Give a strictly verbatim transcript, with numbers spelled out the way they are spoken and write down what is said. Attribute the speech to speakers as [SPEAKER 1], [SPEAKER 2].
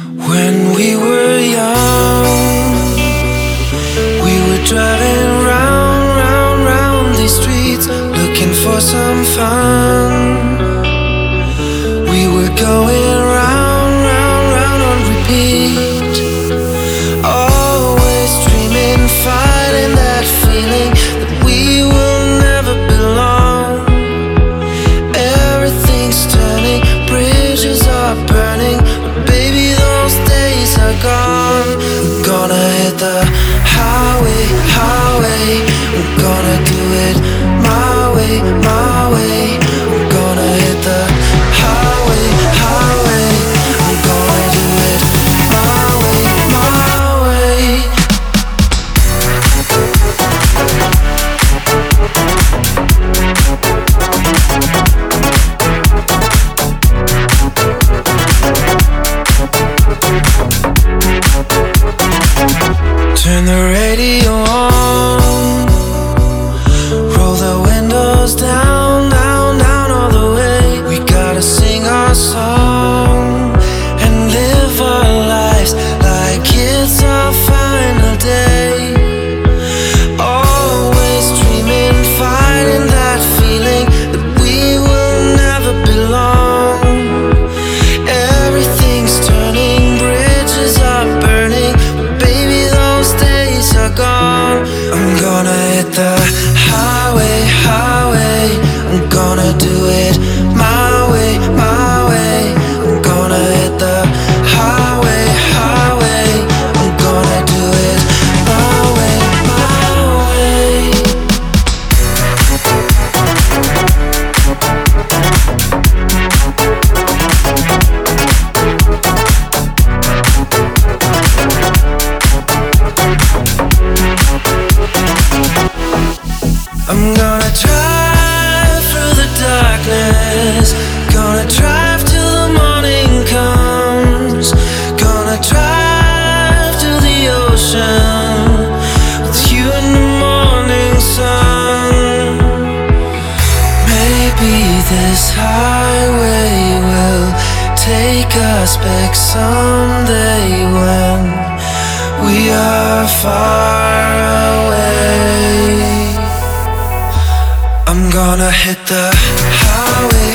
[SPEAKER 1] When we were young, we were driving round, round, round these streets, looking for some fun. We were going round, round, round on repeat, always dreaming, fighting that feeling that we will never belong. Everything's turning, bridges are burning, but baby, those days are gone. We're gonna hit the highway, highway. We're gonna do it my way, my way. We're gonna hit the highway, highway. I'm gonna do it my way, my way. Turn the radio on, roll the windows down, down, down all the way. We gotta sing our song and live our lives like it's our final day. Always dreaming, fighting that feeling that we will never belong. Everything's turning, bridges are burning, but baby, those days are gone. I'm gonna hit the highway, highway. I'm gonna do it my way, my way. I'm gonna hit the highway, highway. I'm gonna do it my way, my way. I'm gonna drive through the darkness, gonna drive till the morning comes, gonna drive to the ocean with you in the morning sun. Maybe this highway will take us back someday when we are far away. I'm gonna hit the highway.